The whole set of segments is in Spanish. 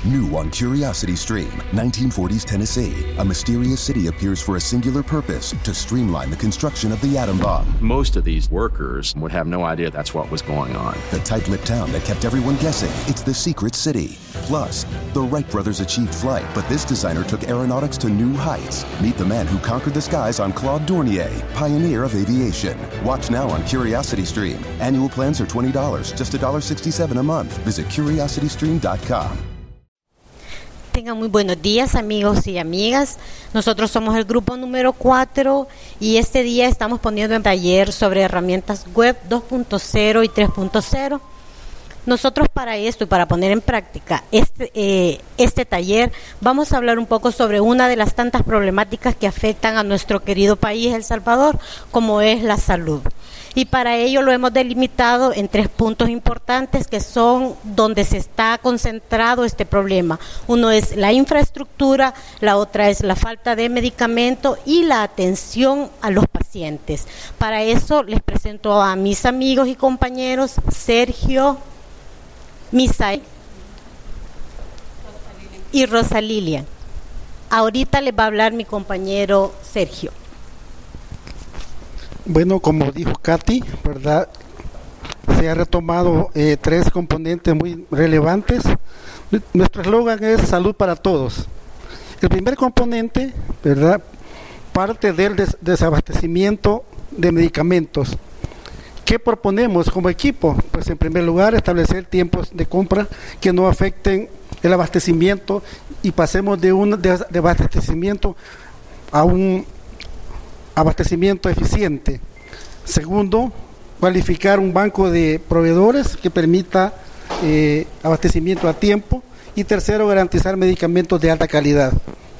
New on Curiosity Stream, 1940s Tennessee. A mysterious city appears for a singular purpose, to streamline the construction of the atom bomb. Most of these workers would have no idea that's what was going on. The tight-lipped town that kept everyone guessing, it's the secret city. Plus, the Wright brothers achieved flight, but this designer took aeronautics to new heights. Meet the man who conquered the skies on Claude Dornier, pioneer of aviation. Watch now on Curiosity Stream. Annual plans are $20, just $1.67 a month. Visit curiositystream.com. Tengan muy buenos días, amigos y amigas. Nosotros somos el grupo número 4 y este día estamos poniendo en taller sobre herramientas web 2.0 y 3.0. Nosotros para esto y para poner en práctica este taller vamos a hablar un poco sobre una de las tantas problemáticas que afectan a nuestro querido país, El Salvador, como es la salud. Y para ello lo hemos delimitado en 3 puntos importantes que son donde se está concentrado este problema. Uno es la infraestructura, la otra es la falta de medicamento y la atención a los pacientes. Para eso les presento a mis amigos y compañeros Sergio, Misael y Rosa Lilian. Ahorita les va a hablar mi compañero Sergio. Bueno, como dijo Katy, ¿verdad? Se ha retomado 3 componentes muy relevantes. Nuestro eslogan es salud para todos. El primer componente, ¿verdad?, parte del desabastecimiento de medicamentos. ¿Qué proponemos como equipo? Pues en primer lugar, establecer tiempos de compra que no afecten el abastecimiento y pasemos de un desabastecimiento a un abastecimiento eficiente. Segundo, cualificar un banco de proveedores que permita abastecimiento a tiempo. Y tercero, garantizar medicamentos de alta calidad.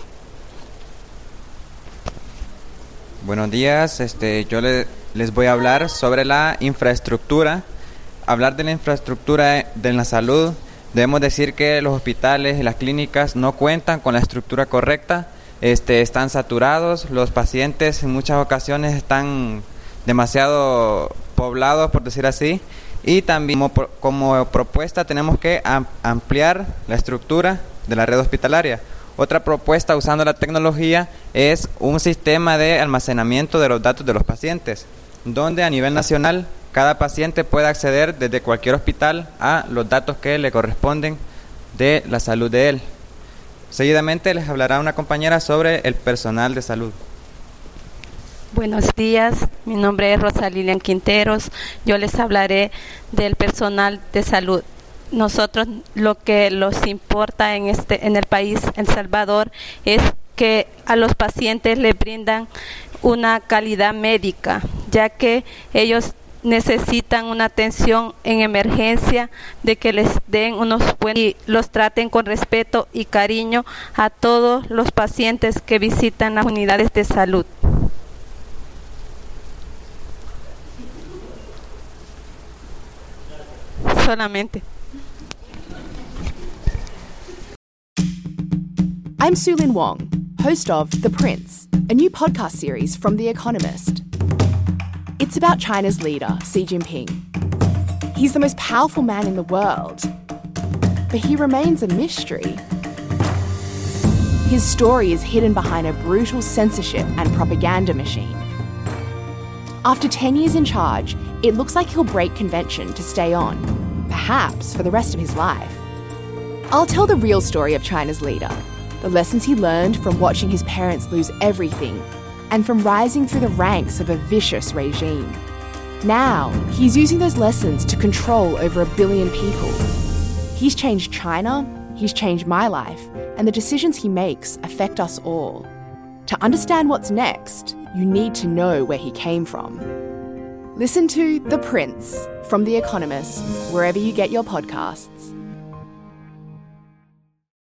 Buenos días, yo les voy a hablar sobre la infraestructura. Hablar de la infraestructura de la salud, debemos decir que los hospitales y las clínicas no cuentan con la estructura correcta. Están saturados, los pacientes en muchas ocasiones están demasiado poblados, por decir así, y también como propuesta tenemos que ampliar la estructura de la red hospitalaria. Otra propuesta usando la tecnología es un sistema de almacenamiento de los datos de los pacientes, donde a nivel nacional cada paciente puede acceder desde cualquier hospital a los datos que le corresponden de la salud de él. Seguidamente les hablará una compañera sobre el personal de salud. Buenos días, mi nombre es Rosa Lilian Quinteros. Yo les hablaré del personal de salud. Nosotros lo que nos importa en el país, El Salvador, es que a los pacientes les brindan una calidad médica, ya que ellos necesitan una atención en emergencia, de que les den unos buenos y los traten con respeto y cariño a todos los pacientes que visitan las unidades de salud. Solamente. I'm Su-Lin Wong, host of The Prince, a new podcast series from The Economist. It's about China's leader, Xi Jinping. He's the most powerful man in the world, but he remains a mystery. His story is hidden behind a brutal censorship and propaganda machine. After 10 years in charge, it looks like he'll break convention to stay on, perhaps for the rest of his life. I'll tell the real story of China's leader, the lessons he learned from watching his parents lose everything and from rising through the ranks of a vicious regime. Now, he's using those lessons to control over 1 billion people. He's changed China, he's changed my life, and the decisions he makes affect us all. To understand what's next, you need to know where he came from. Listen to The Prince from The Economist, wherever you get your podcasts.